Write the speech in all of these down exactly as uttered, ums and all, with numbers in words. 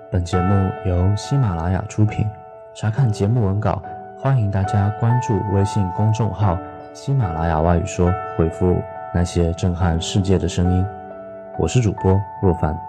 本节目由喜马拉雅出品。查看节目文稿，欢迎大家关注微信公众号喜马拉雅外语说，回复那些震撼世界的声音。我是主播若凡。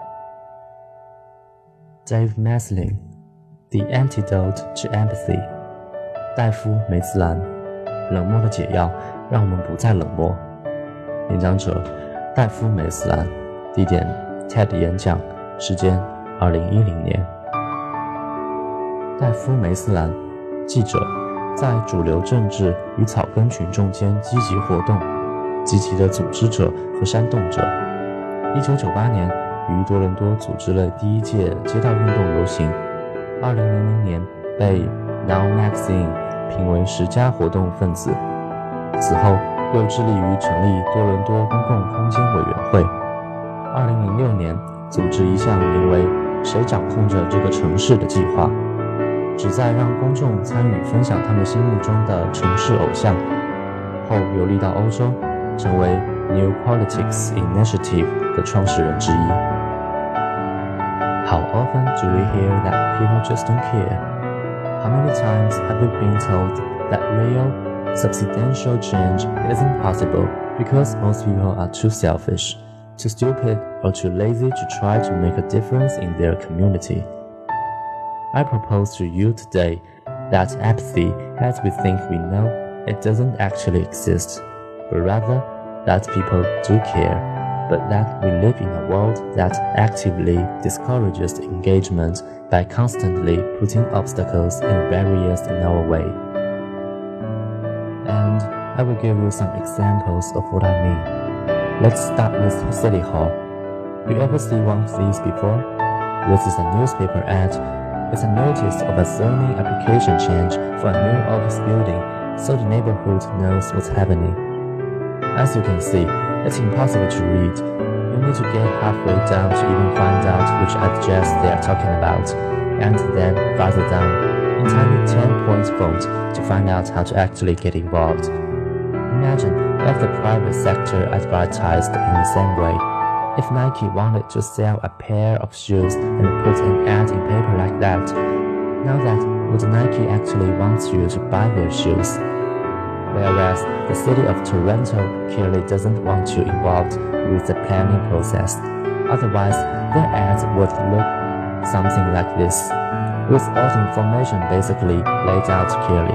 Dave Maslin The Antidote to Empathy 戴夫·梅斯兰，冷漠的解药让我们不再冷漠。演讲者戴夫·梅斯兰，地点 TED 演讲，时间二零一零年。戴夫·梅斯兰，记者，在主流政治与草根群众间积极活动，积极的组织者和煽动者。一九九八年于多伦多组织了第一届街道运动游行，二零零零年被 Now Magazine 评为十佳活动分子。此后又致力于成立多伦多公共空间委员会。二零零六年组织一项名为“谁掌控着这个城市”的计划，旨在让公众参与分享他们心目中的城市偶像。后游历到欧洲，成为 New Politics Initiative 的创始人之一。How often do we hear that people just don't care? How many times have we been told that real, substantial change isn't possible because most people are too selfish, too stupid, or too lazy to try to make a difference in their community? I propose to you today that apathy, as we think we know, it doesn't actually exist, but rather that people do care, but that we live in a world that actively discourages engagement by constantly putting obstacles and barriers in our way. And I will give you some examples of what I mean. Let's start with City Hall. You ever see one of these before? This is a newspaper ad. It's a notice of a zoning application change for a new office building, so the neighborhood knows what's happening. As you can see, it's impossible to read. You need to get halfway down to even find out which address they are talking about, and then farther down, in tiny ten-point font, to find out how to actually get involved. Imagine if the private sector advertised in the same way. If Nike wanted to sell a pair of shoes and put an ad in paper like that, now that would Nike actually want you to buy their shoes? Whereas the city of Toronto clearly doesn't want you involved with the planning process. Otherwise, their ads would look something like this, with all the information basically laid out clearly.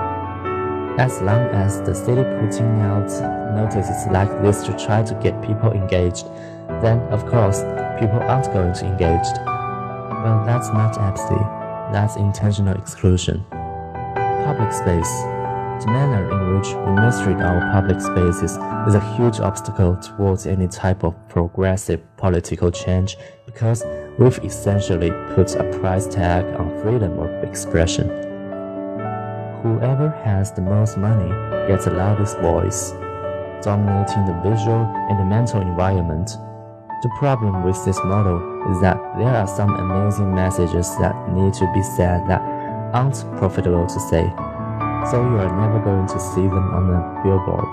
As long as the city putting out notices like this to try to get people engaged, then of course people aren't going to engage. Well, that's not apathy, that's intentional exclusion. Public space. The manner in which we mistreat our public spaces is a huge obstacle towards any type of progressive political change because we've essentially put a price tag on freedom of expression. Whoever has the most money gets the loudest voice, dominating the visual and the mental environment. The problem with this model is that there are some amazing messages that need to be said that aren't profitable to say, so you are never going to see them on a billboard.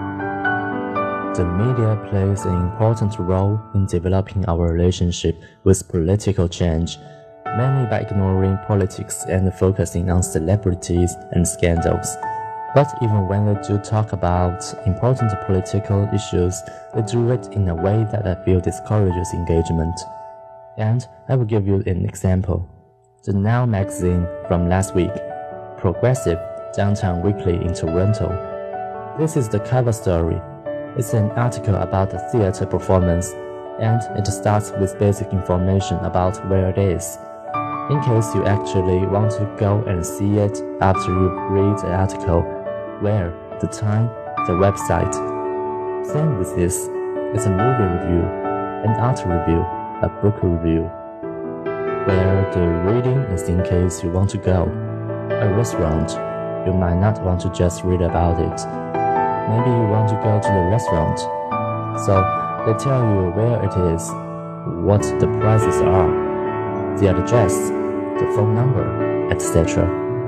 The media plays an important role in developing our relationship with political change, mainly by ignoring politics and focusing on celebrities and scandals. But even when they do talk about important political issues, they do it in a way that I feel discourages engagement. And I will give you an example. The Now magazine from last week, Progressive Downtown Weekly in Toronto. This is the cover story. It's an article about a theater performance, and it starts with basic information about where it is, in case you actually want to go and see it after you read the article, where, the time, the website. Same with this, it's a movie review, an art review, a book review, where the reading is in case you want to go. A restaurant, you might not want to just read about it. Maybe you want to go to the restaurant. So they tell you where it is, what the prices are, the address, the phone number, et cetera.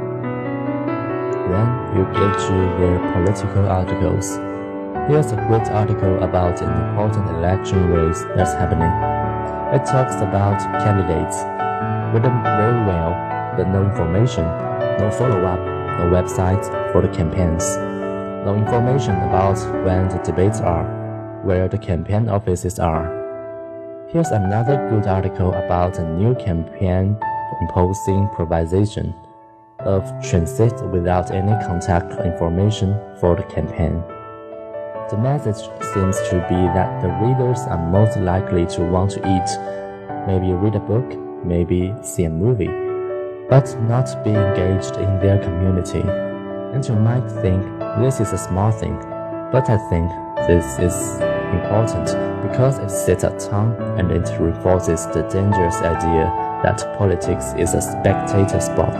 Then you get to their political articles. Here's a great article about an important election race that's happening. It talks about candidates, written very well, but no information, no follow-up, no websites for the campaigns, no information about when the debates are, where the campaign offices are. Here's another good article about a new campaign imposing privatization of transit without any contact information for the campaign. The message seems to be that the readers are most likely to want to eat, maybe read a book, maybe see a movie, but not be engaged in their community. And you might think this is a small thing, but I think this is important because it sets a tone and it reinforces the dangerous idea that politics is a spectator sport.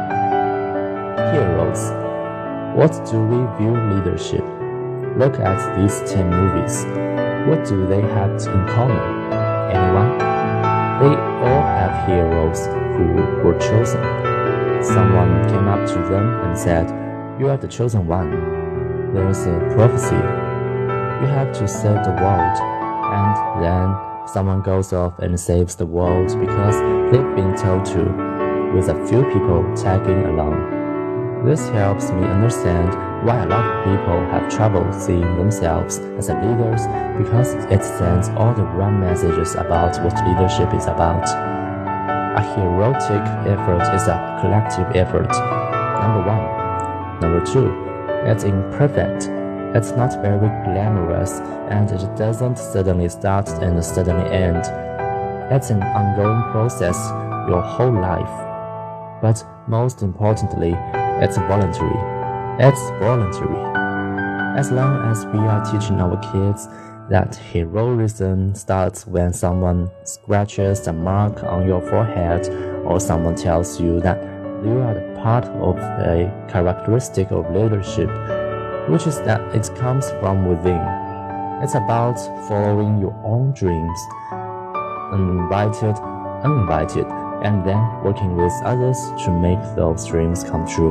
Heroes. What do we view leadership? Look at these ten movies. What do they have in common? Anyone? They all have heroes who were chosen. Someone came up to them and said, "You are the chosen one." There's a prophecy. You have to save the world. And then someone goes off and saves the world because they've been told to, with a few people tagging along. This helps me understand why a lot of people have trouble seeing themselves as leaders because it sends all the wrong messages about what leadership is about. A heroic effort is a collective effort. Number one. Number two, it's imperfect. It's not very glamorous and it doesn't suddenly start and suddenly end. It's an ongoing process your whole life. But most importantly, it's voluntary. It's voluntary. As long as we are teaching our kids that heroism starts when someone scratches a mark on your forehead or someone tells you that you are the part of a characteristic of leadership, which is that it comes from within. It's about following your own dreams, uninvited, uninvited, and then working with others to make those dreams come true.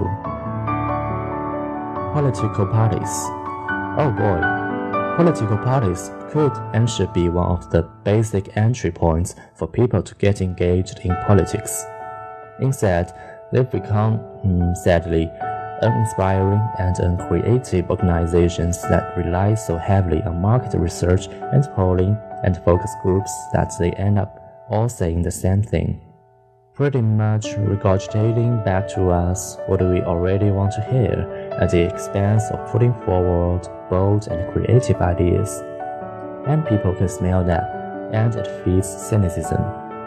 Political parties. Oh boy, political parties could and should be one of the basic entry points for people to get engaged in politics. Instead, they've become, mm, sadly, uninspiring and uncreative organizations that rely so heavily on market research and polling and focus groups that they end up all saying the same thing, pretty much regurgitating back to us what we already want to hear at the expense of putting forward bold and creative ideas. And people can smell that, and it feeds cynicism.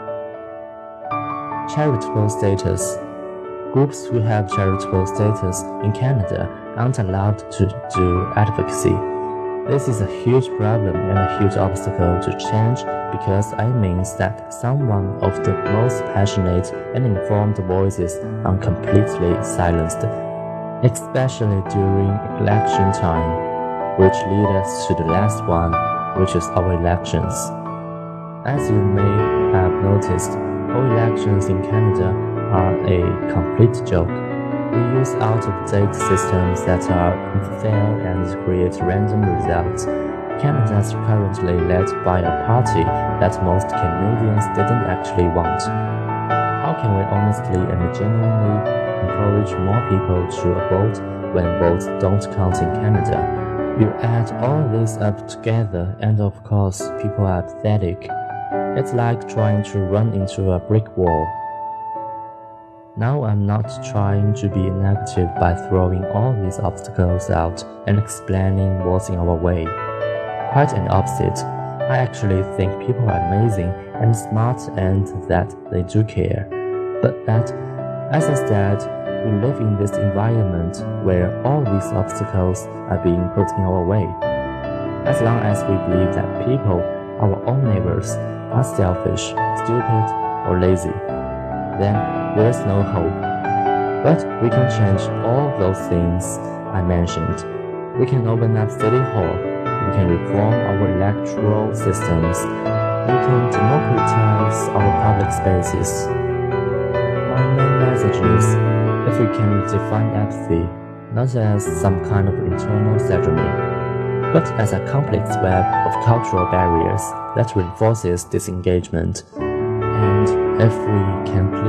Charitable status. Groups who have charitable status in Canada aren't allowed to do advocacy. This is a huge problem and a huge obstacle to change because it means that some of the most passionate and informed voices are completely silenced, especially during election time, which leads us to the last one, which is our elections. As you may have noticed, all elections in Canada are a complete joke. We use out-of-date systems that are unfair and create random results. Canada is currently led by a party that most Canadians didn't actually want. How can we honestly and genuinely encourage more people to vote when votes don't count in Canada? You add all this up together and of course people are apathetic. It's like trying to run into a brick wall. Now I'm not trying to be negative by throwing all these obstacles out and explaining what's in our way. Quite an opposite. I actually think people are amazing and smart and that they do care. But that, as I said, we live in this environment where all these obstacles are being put in our way. As long as we believe that people, our own neighbors, are selfish, stupid, or lazy, then there's no hope. But we can change all those things I mentioned. We can open up City Hall. We can reform our electoral systems. We can democratize our public spaces. My main message is, if we can define apathy not as some kind of internal ceremony, but as a complex web of cultural barriers that reinforces disengagement, and if we can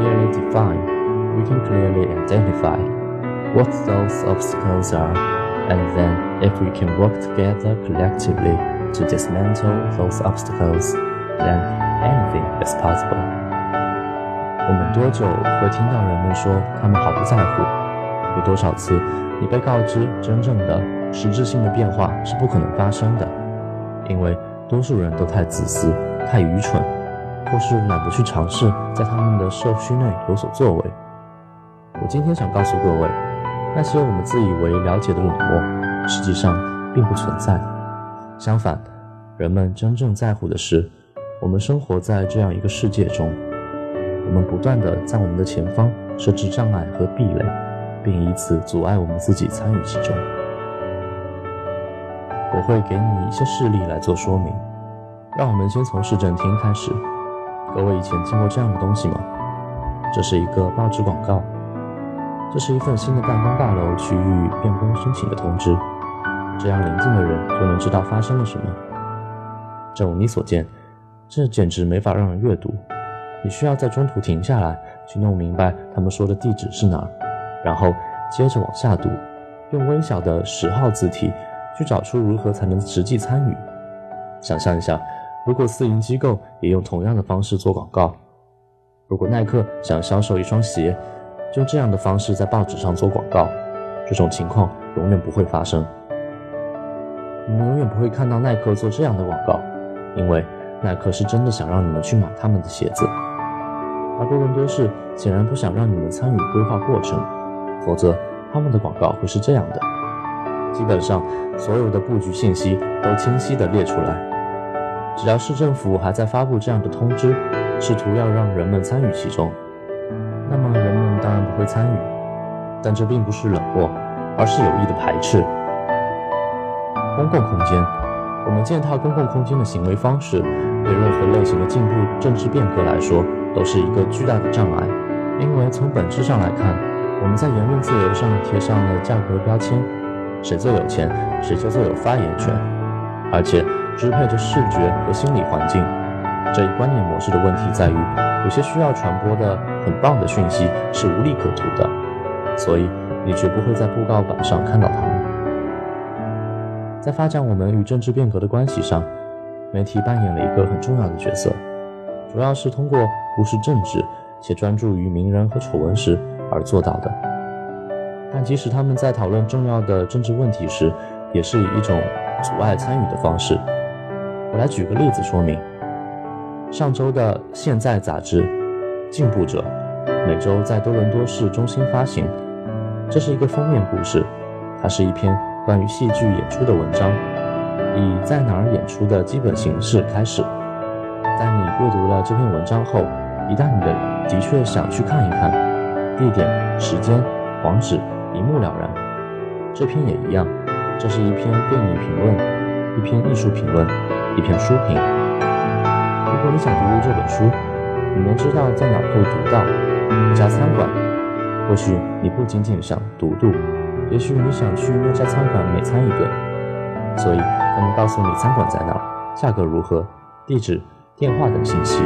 can clearly identify what those obstacles are, and then if we can work together collectively to dismantle those obstacles, then anything is possible. 我们多久会听到人们说他们毫不在乎？有多少次你被告知真正的实质性的变化是不可能发生的？因为多数人都太自私、太愚蠢，或是懒得去尝试在他们的社区内有所作为。我今天想告诉各位，那些我们自以为了解的冷漠，实际上并不存在。相反，人们真正在乎的是，我们生活在这样一个世界中，我们不断地在我们的前方设置障碍和壁垒，并以此阻碍我们自己参与其中。我会给你一些事例来做说明。让我们先从市政厅开始。各位以前见过这样的东西吗？这是一个报纸广告，这是一份新的办公大楼区域变更申请的通知，这样邻近的人就能知道发生了什么。正如你所见，这简直没法让人阅读，你需要在中途停下来，去弄明白他们说的地址是哪儿，然后接着往下读，用微小的十号字体去找出如何才能实际参与。想象一下，如果私营机构也用同样的方式做广告，如果耐克想销售一双鞋，就这样的方式在报纸上做广告，这种情况永远不会发生。你们永远不会看到耐克做这样的广告，因为耐克是真的想让你们去买他们的鞋子，而多伦多市显然不想让你们参与规划过程，否则他们的广告会是这样的。基本上所有的布局信息都清晰地列出来，只要市政府还在发布这样的通知，试图要让人们参与其中，那么人们当然不会参与。但这并不是冷漠，而是有意的排斥。公共空间，我们践踏公共空间的行为方式，对任何类型的进步政治变革来说都是一个巨大的障碍。因为从本质上来看，我们在言论自由上贴上了价格标签，谁最有钱谁就最有发言权，而且支配着视觉和心理环境。这一观念模式的问题在于，有些需要传播的很棒的讯息是无利可图的，所以你绝不会在布告板上看到它们。在发展我们与政治变革的关系上，媒体扮演了一个很重要的角色，主要是通过忽视政治且专注于名人和丑闻时而做到的。但即使他们在讨论重要的政治问题时，也是以一种阻碍参与的方式。我来举个例子说明。上周的《现在》杂志《进步者》每周在多伦多市中心发行，这是一个封面故事，它是一篇关于戏剧演出的文章，以在哪儿演出的基本形式开始。在你阅读了这篇文章后，一旦你的的确想去看一看，地点、时间、网址一目了然。这篇也一样，这是一篇电影评论，一篇艺术评论，一篇书评。如果你想读读这本书，你能知道在哪儿可以读到一家餐馆，或许你不仅仅想读读，也许你想去那家餐馆美餐一顿，所以他们告诉你餐馆在哪儿，价格如何，地址、电话等信息。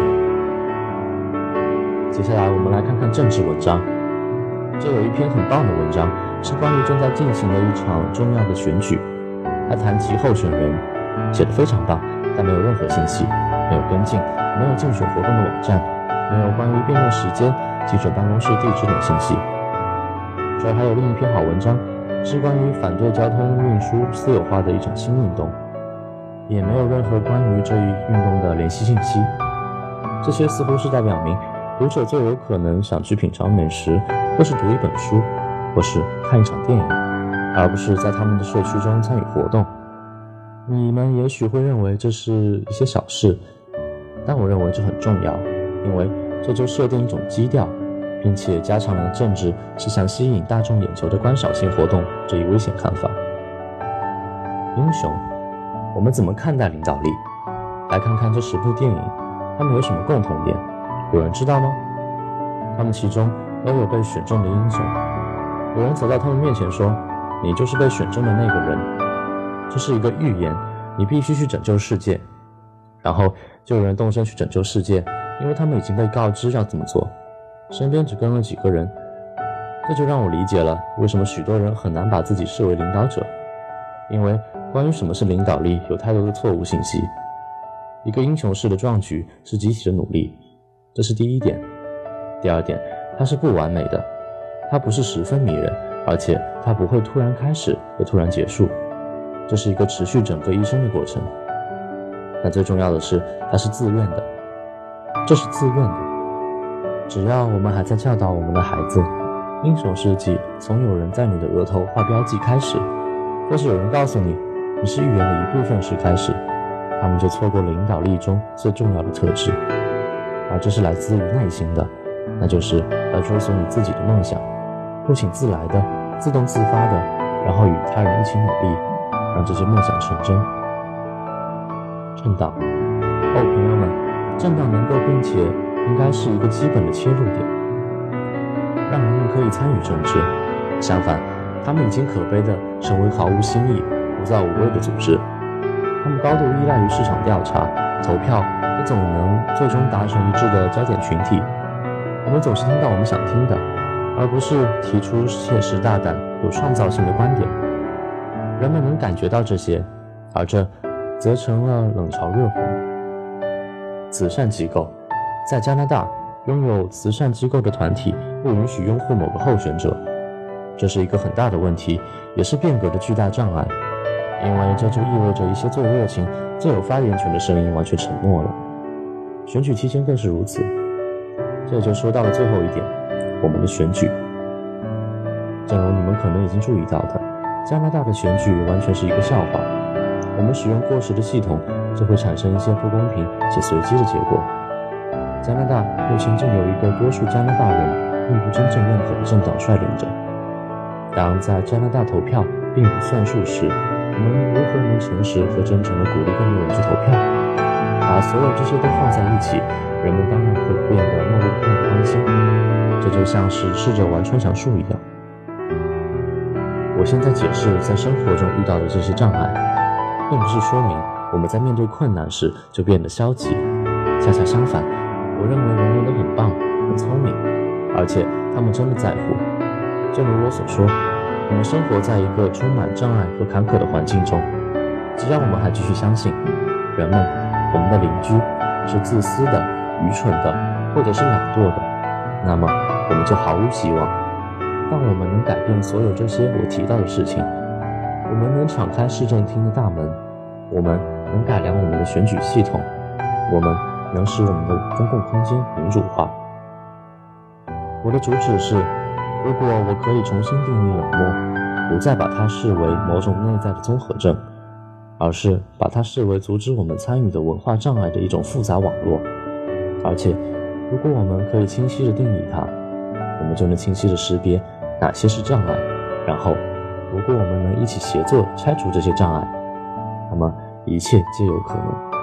接下来我们来看看政治文章。这有一篇很棒的文章，是关于正在进行的一场重要的选举，他谈及候选人，写得非常棒，但没有任何信息，没有跟进，没有竞选活动的网站，没有关于辩论时间、记者办公室地址等信息。这儿还有另一篇好文章，是关于反对交通运输私有化的一场新运动，也没有任何关于这一运动的联系信息。这些似乎是在表明，读者最有可能想去品尝美食，或是读一本书，或是看一场电影，而不是在他们的社区中参与活动。你们也许会认为这是一些小事，但我认为这很重要，因为这就设定一种基调，并且加强了政治是想吸引大众眼球的观赏性活动这一危险看法。英雄，我们怎么看待领导力？来看看这十部电影，它们有什么共同点？有人知道吗？他们其中都有被选中的英雄。有人走到他们面前说：“你就是被选中的那个人。”这是一个预言，你必须去拯救世界。然后就有人动身去拯救世界，因为他们已经被告知要这么做。身边只跟了几个人， 这就让我理解了为什么许多人很难把自己视为领导者，因为关于什么是领导力有太多的错误信息。一个英雄式的壮举是集体的努力，这是第一点。第二点，它是不完美的，它不是十分迷人，而且它不会突然开始又突然结束，这是一个持续整个一生的过程。但最重要的是，它是自愿的，这是自愿的。只要我们还在教导我们的孩子，英雄事迹从有人在你的额头画标记开始，或是有人告诉你你是预言的一部分时开始，他们就错过了领导力中最重要的特质，而这是来自于耐心的，那就是要追随你自己的梦想，不请自来的，自动自发的，然后与他人一起努力，让这些梦想成真。政党，哦，朋友们，政党能够并且应该是一个基本的切入点，让人们可以参与政治。相反，他们已经可悲地成为毫无新意、无造无味的组织。他们高度依赖于市场调查、投票，也总能最终达成一致的焦点群体。我们总是听到我们想听的，而不是提出切实大胆、有创造性的观点。人们能感觉到这些，而这则成了冷嘲热讽。慈善机构，在加拿大，拥有慈善机构的团体不允许拥护某个候选者，这是一个很大的问题，也是变革的巨大障碍，因为这就意味着一些最热情、最有发言权的声音完全沉默了。选举期间更是如此。这就说到了最后一点，我们的选举。正如你们可能已经注意到的，加拿大的选举完全是一个笑话。我们使用过时的系统，就会产生一些不公平且随机的结果。加拿大目前正有一个多数加拿大人并不真正认可的政党率领着。当在加拿大投票并不算数时，我们如何能诚实和真诚地鼓励更多人去投票？把所有这些都放在一起，人们当然会变得漠不关心。这就像是试着玩穿墙术一样。我现在解释在生活中遇到的这些障碍，并不是说明我们在面对困难时就变得消极，恰恰相反，我认为人人都很棒、很聪明，而且他们真的在乎。正如我所说，我们生活在一个充满障碍和坎坷的环境中，只要我们还继续相信，人们，我们的邻居是自私的、愚蠢的，或者是懒惰的，那么我们就毫无希望。当我们能改变所有这些我提到的事情，我们能敞开市政厅的大门，我们能改良我们的选举系统，我们能使我们的公共空间民主化。我的主旨是，如果我可以重新定义冷漠，不再把它视为某种内在的综合症，而是把它视为阻止我们参与的文化障碍的一种复杂网络。而且，如果我们可以清晰地定义它，我们就能清晰地识别哪些是障碍，然后如果我们能一起协作拆除这些障碍，那么一切皆有可能。